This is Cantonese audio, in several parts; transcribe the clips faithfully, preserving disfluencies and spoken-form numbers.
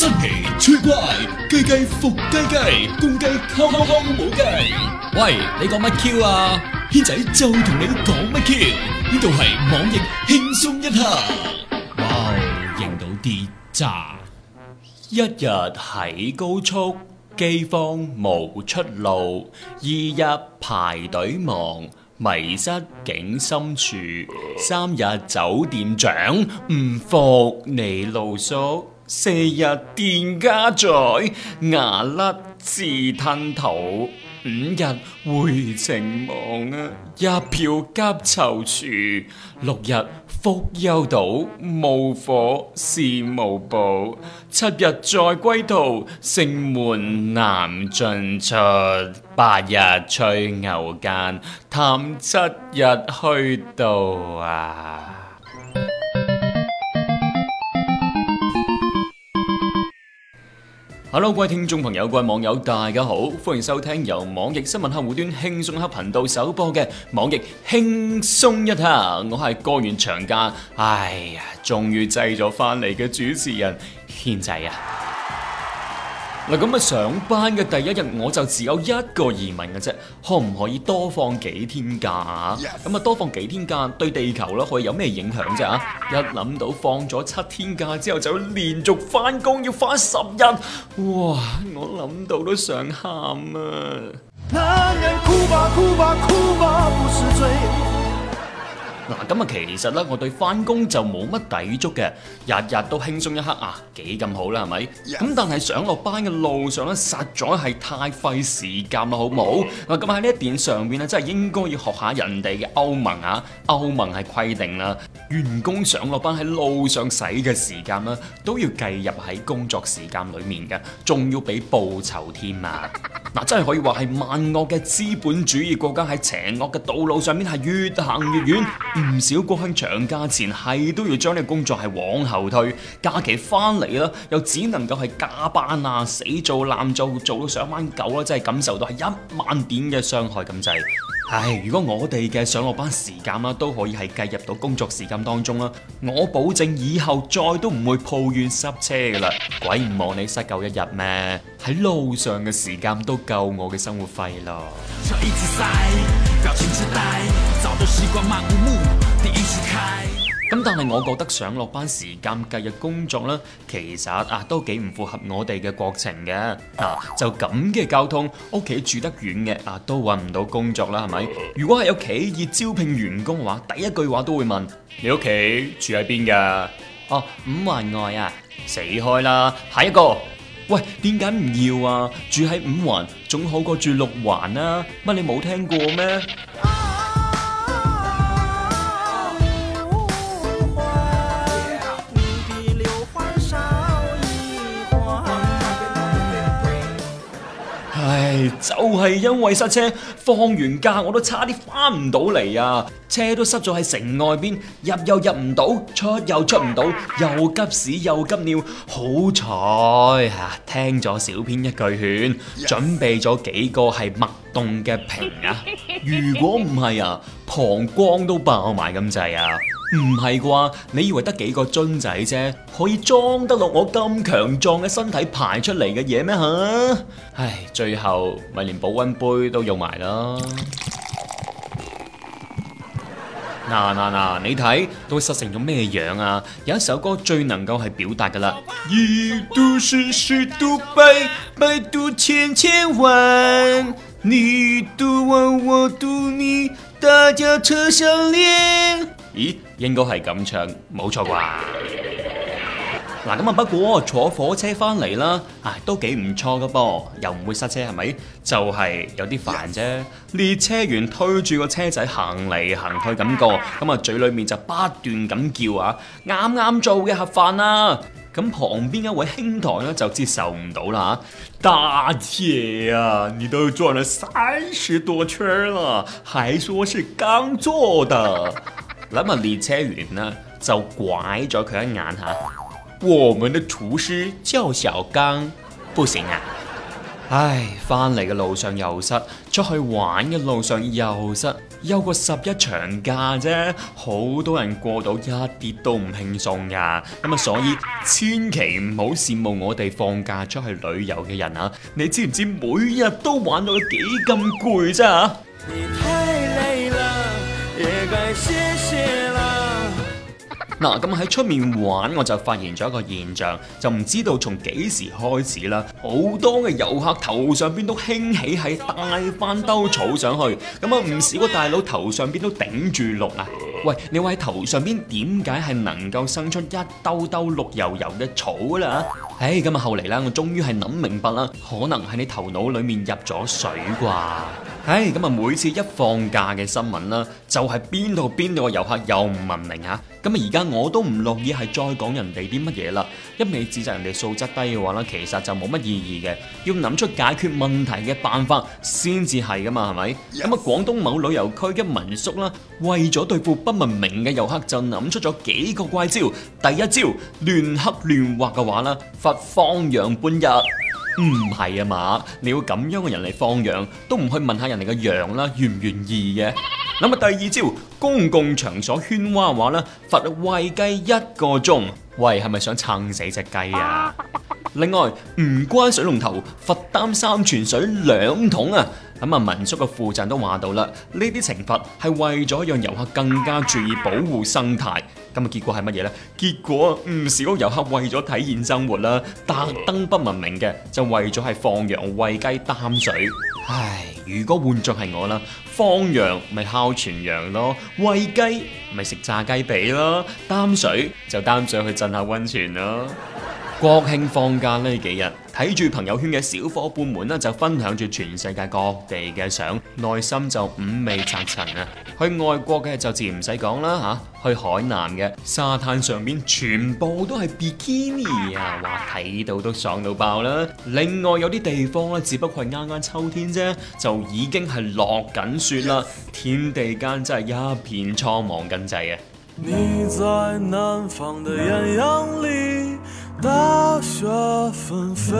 新奇趣怪，雞雞伏雞雞，公雞扣扣扣冇雞。喂，你講乜 Q 啊？軒仔就同你講乜 Q？呢度係網易輕鬆一刻。哇，認到啲渣。一日喺高速，饑荒無出路，二日排隊忙。迷失境深處，三日酒店長唔服你露宿，四日店家在牙甩自吞肚，五日回程忙啊，一票急躊躇，六日福丘島無火是無補，七日再歸途，城門難進出，八日吹牛間，探七日去到啊！Hello， 各位聽眾朋友、各位網友，大家好，歡迎收聽由網易新聞客戶端輕鬆一刻頻道首播嘅網易輕鬆一刻，我係過完長假，哎呀，終於製咗翻嚟嘅主持人軒仔啊！嗱，咁啊上班嘅第一日我就只有一個疑問嘅啫，可唔可以多放幾天假啊？咁啊多放幾天假對地球咧可以有咩影響啫？啊，一諗到放咗七天假之後就要連續翻工要翻十日，哇！我諗到都想喊啊！男人哭吧哭吧哭吧不是罪。嗱，咁啊，其實咧，我對翻工就冇乜抵觸嘅，日日都輕鬆一刻啊，幾咁好啦，係咪？咁 Yes. 但係上落班嘅路上咧，實在係太費時間啦，好唔好？嗱，咁喺呢一點上邊咧，真係應該要學下人哋嘅歐盟啊，歐盟係規定啦，員工上落班喺路上使嘅時間啦，都要計入喺工作時間裡面嘅，仲要俾報酬添啊！嗱，真係可以話係萬惡嘅資本主義國家喺邪惡嘅道路上面係越行越遠。唔少國慶長假前係都要將呢個工作係往後推，假期翻嚟啦，又只能夠係加班啊，死做爛做，做到上班狗啦，真係感受到係一萬點嘅傷害咁滯。唉，如果我哋嘅上落班時間啦都可以係計入到工作時間當中啦，我保證以後再都唔會抱怨塞車噶啦，鬼唔望你塞夠一日咩？喺路上嘅時間都夠我嘅生活費咯。咁但係我覺得上落班時間計入工作咧，其實啊都幾唔符合我哋嘅國情嘅。啊，就咁嘅交通，屋企住得遠嘅啊都揾唔到工作啦，係咪？如果係有企業招聘員工嘅話，第一句話都會問：你屋企住喺邊㗎？哦，五環外啊，死開啦！下一個，喂，點解唔要啊？住喺五環總好過住六環啊？乜你冇聽過咩？唉，就係因為塞車，放完假我都差啲翻唔到嚟啊！車都塞咗喺城外邊，入又入唔到，出又出唔到，又急屎又急尿。好彩吓，聽咗小編一句勸，準備咗幾個係脈動嘅瓶啊！如果唔係啊，膀胱都爆埋咁滯啊！唔係啩？你以為得幾個樽仔啫，可以裝得落我咁強壯嘅身體排出嚟嘅嘢咩吓？唉，最後咪連保溫杯都用埋啦。嗱嗱嗱，你睇都塞成咗咩樣啊？有一首歌最能夠係表達噶啦，一度是十度百，百度千千萬，你度我我度你，大家車相連。咦，應該係咁唱，冇錯啩？嗱，咁啊，不過坐火車翻嚟啦，啊，都幾唔錯噶噃，又唔會塞車，係咪？就係有啲煩啫。列車員推住個車仔行嚟行去咁過，咁啊嘴裏面就不斷咁叫啊，啱啱做嘅盒飯啊！咁旁邊一位兄台咧就接受唔到啦，大姐啊，你都轉了三十多圈了，還說是剛做的。諗下列車員呢就拐咗佢一眼吓，我們的廚師叫小剛，不行啊！唉，翻嚟嘅路上又塞，出去玩嘅路上又塞， 休個十一長假啫，好多人過到一啲都唔輕鬆噶。咁啊，所以千祈唔好羨慕我哋放假出去旅遊嘅人啊！你知唔知每日都玩到幾咁攰啫？你太累了，也該歇歇啦。嗱，咁喺出面玩，我就發現咗一個現象，就唔知道從幾時開始啦，好多嘅遊客頭上邊都興起係帶翻兜草上去，咁啊唔少個大佬頭上邊都頂住綠啊！喂，你話喺頭上邊點解係能夠生出一兜兜綠油油嘅草啦？唉，咁啊後嚟啦，我終於係諗明白啦，可能係你頭腦裡面入咗水啩。唉，咁啊每次一放假嘅新聞啦，就係邊度邊度嘅遊客又唔文明啊！咁啊而家我都唔樂意係再講人哋啲乜嘢啦，一味指責人哋素質低嘅話啦，其實就冇乜意義嘅，要諗出解決問題嘅辦法先至係噶嘛，係咪？咁啊廣東某旅遊區嘅民宿啦，為咗對付不文明嘅遊客，就諗出咗幾個怪招。第一招，亂刻亂畫嘅話啦，罰放羊半日。唔係啊嘛，你要咁樣嘅人嚟放羊，都唔去問下人哋嘅羊啦，願唔願意嘅？咁啊，第二招，公共場所喧嘩嘅話咧，罰餵雞一個鐘。喂，係咪想撐死隻雞啊？另外，唔關水龍頭，罰擔三泉水兩桶啊！咁啊，民宿嘅負責人都話到啦，呢啲懲罰係為咗讓遊客更加注意保護生態。咁啊，結果係乜嘢呢？結果唔少遊客為咗體驗生活啦，特登不文明嘅，就為咗係放羊餵雞擔水。唉，如果換作係我啦，放羊咪烤全羊咯，餵雞咪食炸雞髀咯，擔水就擔水去浸下溫泉咯。國慶放假呢幾日，睇住朋友圈嘅小伙伴們呢，就分享住全世界各地嘅相，內心就五味雜陳啊！去外國嘅就自然唔使講啦嚇，去海南嘅沙灘上面全部都係比基尼啊，哇睇到都爽到爆啦！另外有啲地方咧，只不過係啱啱秋天啫，就已經係落緊雪啦，天地間真係一片蒼茫緊滯啊！你在南方的豔陽裡大雪紛飛，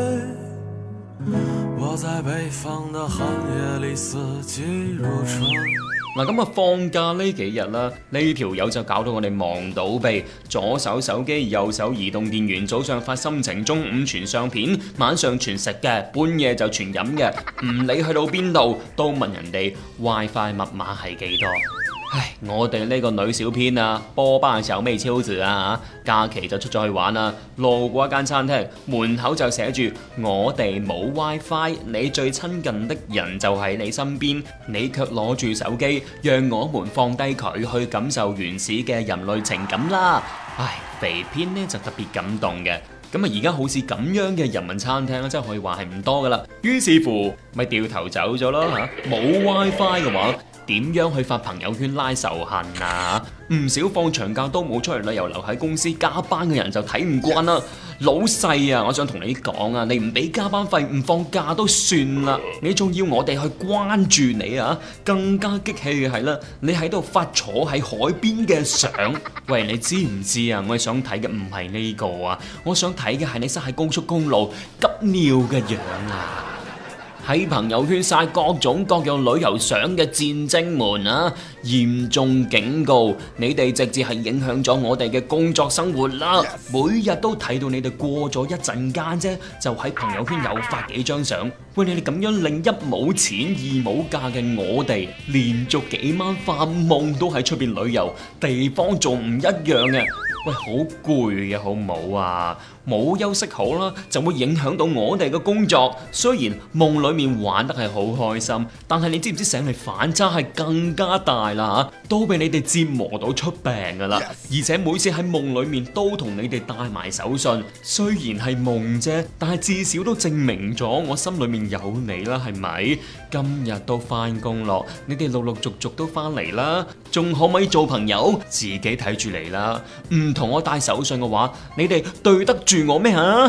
我在北方的寒夜裡四季如春。嗱，咁啊放假呢幾日啦，呢條友就搞到我哋忙到痹，左手手機，右手移動電源，早上發心情，中午傳相片，晚上傳食嘅，半夜就傳飲嘅，唔理去到邊度都問人哋 WiFi 密碼係幾多。唉，我哋呢個女小編啊，波巴小妹超子啊，假期就出咗去玩啦，路過一間餐廳，門口就寫住我哋冇 WiFi， 你最親近的人就喺你身邊，你卻攞住手機，讓我們放低佢去感受原始嘅人類情感啦。唉，肥編呢就特別感動嘅。咁啊，而家好似咁樣嘅人民餐廳咧，真係可以話係唔多噶啦。於是乎，咪掉頭走咗咯嚇。冇 WiFi 嘅話，點樣去發朋友圈拉仇恨啊？唔少放長假都冇出去旅遊，留喺公司加班嘅人就睇唔慣啦。老細啊，我想同你講啊，你唔俾加班費，唔放假都算啦，你仲要我哋去關注你啊？更加激氣嘅係啦，你喺度發坐喺海邊嘅相。喂，你知唔知啊？我想睇嘅唔係呢個啊，我想睇嘅係你塞喺高速公路急尿嘅樣啊！喺朋友圈晒各種各樣旅遊相嘅戰精們啊，嚴重警告你哋，直接係影響咗我哋嘅工作生活啦！每日都睇到你哋過咗一陣間啫，就喺朋友圈又發幾張相。喂，你哋咁樣令一冇錢二冇假嘅我哋，連續幾晚發夢都喺出邊旅遊，地方仲唔一樣嘅。喂，好攰嘅好唔好啊？冇休息好啦，就會影響到我哋嘅工作。雖然夢裏面玩得係好開心，但係你知唔知醒嚟反差係更加大啦嚇，都俾你哋折磨到出病噶啦。而且每次喺夢裏面都同你哋帶埋手信，雖然係夢啫，但係至少都證明咗我心裏面有你啦，係咪？今日都翻工咯，你哋陸陸續續都翻嚟啦，仲可唔可以做朋友？自己睇住嚟啦，唔同我帶手信嘅話，你哋對得住我咩吓？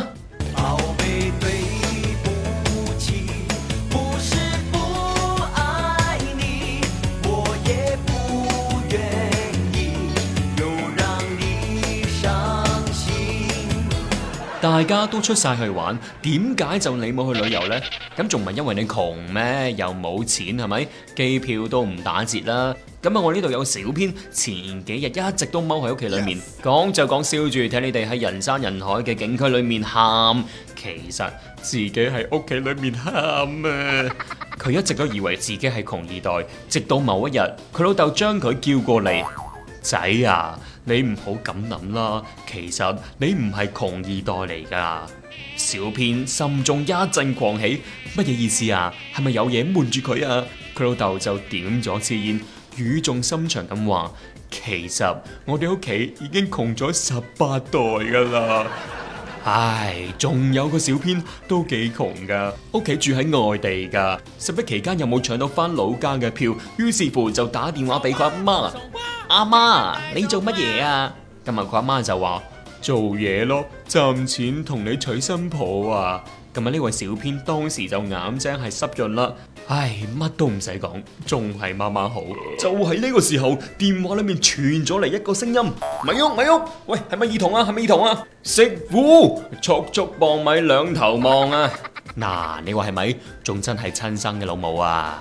大家都出晒去玩，點解就你冇去旅遊呢？咁仲唔係因為你窮咩？又冇錢係咪？機票都唔打折啦。咁啊，我呢度有個小編，前幾日一直都踎喺屋企裏面，講就講笑住睇你哋喺人山人海嘅景區裏面喊，其實自己喺屋企裏面喊啊！佢一直都以為自己係窮二代，直到某一日，佢老豆將佢叫過嚟，仔啊，你唔好咁諗啦，其實你唔係窮二代嚟噶。小編心中一陣狂喜，乜嘢意思啊？係咪有嘢瞞住佢啊？佢老豆就點咗支煙，語重心長咁話：其實我哋屋企已經窮咗十八代噶啦。唉，仲有個小編都幾窮噶，屋企住喺外地噶，十一期間又冇搶到翻老家嘅票，於是乎就打電話俾佢阿媽：阿媽，你做乜嘢啊？今日佢阿媽就話：做嘢咯，賺錢同你娶新抱啊！今日呢位小編當時就眼睛係濕潤啦，唉，乜都唔使講，仲係媽媽好。就喺呢個時候，電話裏面傳咗嚟一個聲音：咪喐咪喐，喂，係咪耳筒啊？係咪耳筒啊？媳婦，速速磅米兩頭望啊！嗱，你話係咪？仲真係親生嘅老母啊！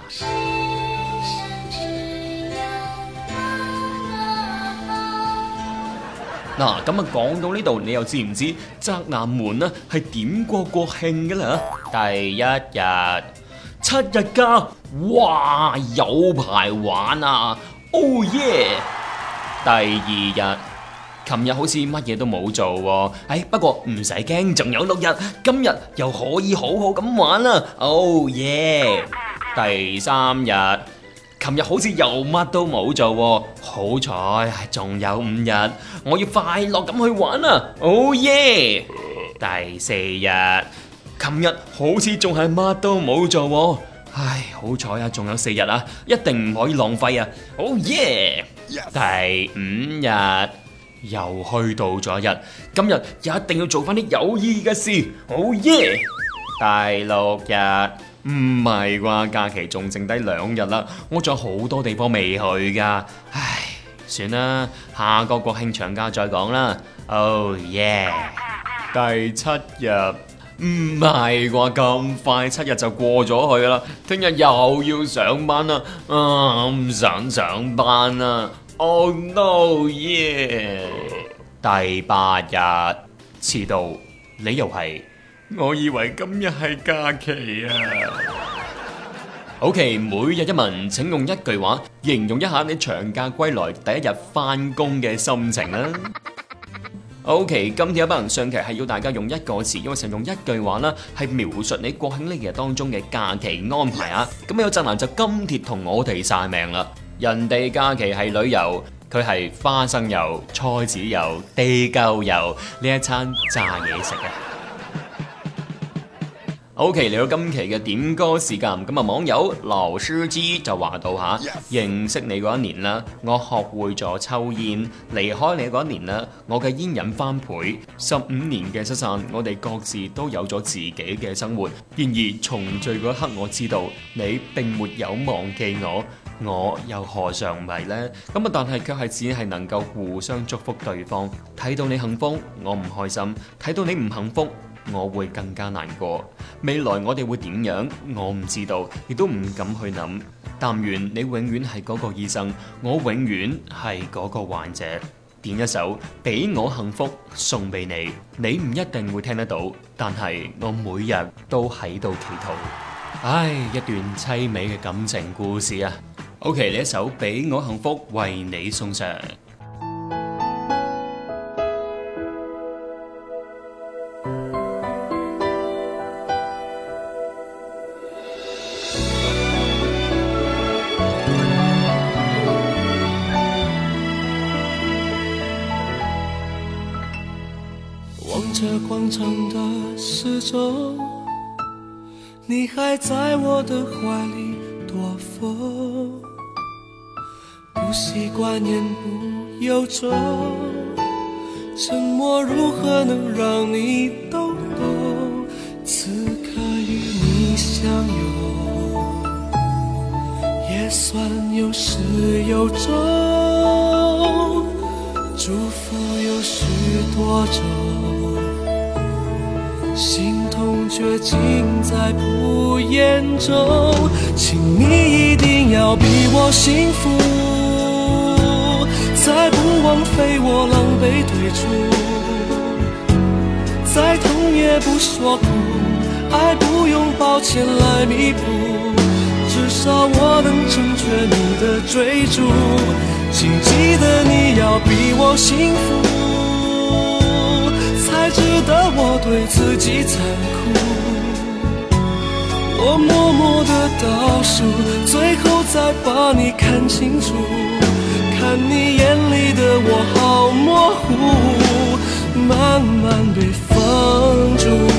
嗱，咁啊講到呢度，你又知唔知宅男們呢係點過國慶嘅啦？第一日七日假，哇，有排玩啊 ！Oh yeah！ 第二日，琴日好似乜嘢都冇做喎，哎，不過唔使驚，仲有六日，今日又可以好好咁玩啦 ！Oh yeah！ 第三日。琴日好似又乜都冇做喎，好彩仲有五日，我要快樂咁去玩啊 ！Oh yeah！ 第四日，琴日好似仲係乜都冇做喎，唉，好彩啊，仲有四日啊，一定唔可以浪費啊 ！Oh yeah！ 第五日又去到咗一日，今日一定要做翻啲有意義嘅事 ！Oh yeah！ 第六日。唔係啩？假期仲剩低兩日啦，我仲有好多地方未去噶，唉，算啦，下個國慶長假再講啦。Oh yeah！ 第七日唔係啩？咁快七日就過咗去啦，聽日又要上班啦，啊，唔想上班啦。Oh no yeah！ 第八日遲到，理由係。我以為今日係假期啊。OK， 每日一問，請用一句話形容一下你長假歸來第一日翻工嘅心情啦。OK， 今天有班人上期係要大家用一個詞，因為想用一句話啦，係描述你國慶呢日當中嘅假期安排啊。咁有宅男就金鐵同我哋晒命啦。人哋假期係旅遊，佢係花生油、菜籽油、地溝油呢一餐炸嘢食啊。OK， 嚟到今期嘅點歌時間，咁啊網友羅書之就話到吓，Yes. 認識你嗰一年啦，我學會咗抽煙；離開你嗰一年啦，我嘅煙癮翻倍。十五年嘅失散，我哋各自都有咗自己嘅生活。然而重聚嗰一刻，我知道你並沒有忘記我，我又何嘗唔係呢？咁啊，但係卻係只係能夠互相祝福對方。睇到你幸福，我唔開心；睇到你唔幸福，我會更加難過。未來我哋會點樣？我唔知道，亦都唔敢去諗。但願你永遠係嗰個醫生，我永遠係嗰個患者。點一首俾我幸福送俾你，你唔一定會聽得到，但係我每日都喺度祈禱。唉，一段凄美嘅感情故事啊。OK， 呢一首俾我幸福為你送上。 这广场的时钟，你还在我的怀里躲风，不习惯言不由衷，沉默如何能让你懂懂？此刻与你相拥，也算有始有终，祝福有许多种。 心痛却尽在不言中。请你一定要比我幸福，再不枉费我狼狈退出，再痛也不说苦，爱不用抱歉来弥补，至少我能成全你的追逐。请记得你要比我幸福，才值得我对自己残酷。我默默的倒数，最后再把你看清楚，看你眼里的我好模糊，慢慢被放逐。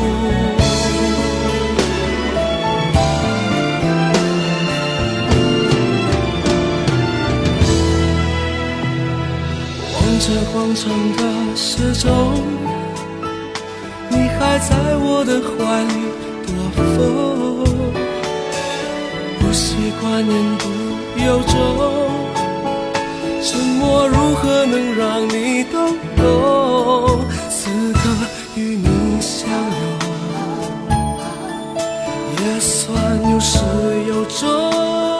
望着广场的时钟，你还在我的怀里躲风，不习惯言不由衷，沉默如何能让你懂懂？此刻与你相拥，也算有始有终，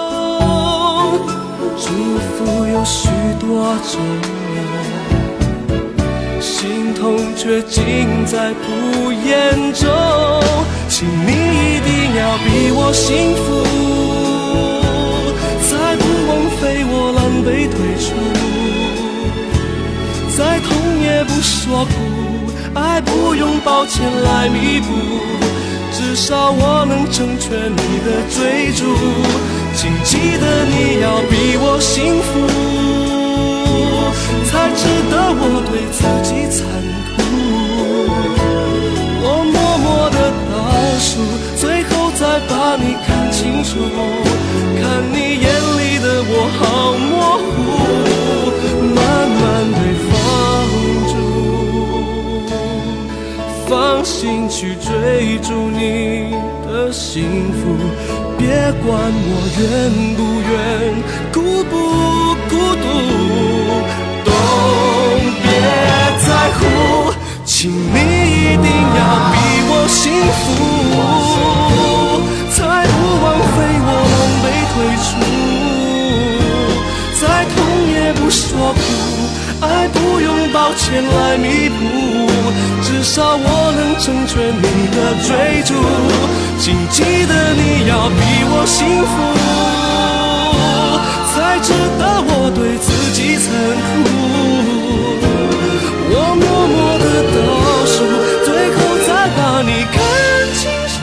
祝福有许多种，心痛却尽在不言中。请你一定要比我幸福，才不枉费我狼狈退出，再痛也不说苦，爱不用抱歉来弥补，至少我能成全你的追逐。请记得你要比我幸福，才值得我对自己残酷。我默默的倒数，最后再把你看清楚，看你眼里的我好模糊，慢慢被放逐，放心去追逐你的幸福，别管我远不远，孤不孤独，都别在乎。请你一定要比我幸福，才不枉费我狼狈退出，再痛也不说苦，爱不用抱歉来弥补，至少我能成全你的追逐。请记得你要比我幸福，才值得我对自己残酷。我默默的倒数，最后再把你看清楚，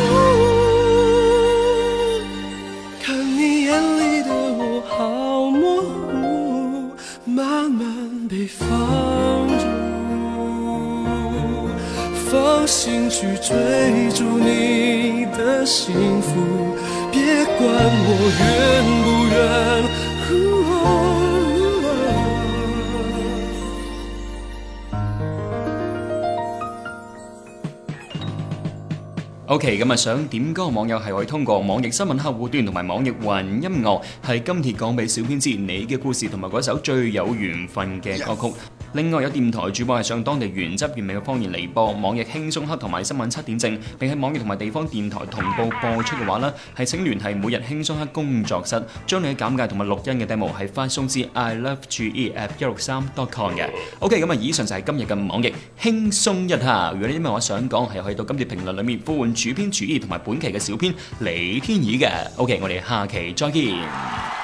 看你眼里的我好模糊，慢慢被放逐，放心去追逐你的幸福，别管我远不远。 OK， 咁啊想點歌嘅網友係可以通過網易新聞客戶端同埋網易雲音樂，係今帖講俾小編知你嘅故事同埋嗰首最有緣分嘅歌曲。另外有電台主播係上當地原汁原味嘅方言嚟播網易輕鬆黑同埋新聞七點正，並喺網易同埋地方電台同步播出嘅話呢，係請聯繫每日輕鬆黑工作室，將你嘅簡介同埋錄音嘅 demo 係發送至 i love g e at 一六三 dot com 嘅。OK， 咁啊以上就係今日嘅網易輕鬆一下。如果你有咩話想講，係可以到今次評論裏面呼喚主編主義同埋本期嘅小編李天意嘅。OK， 我哋下期再見。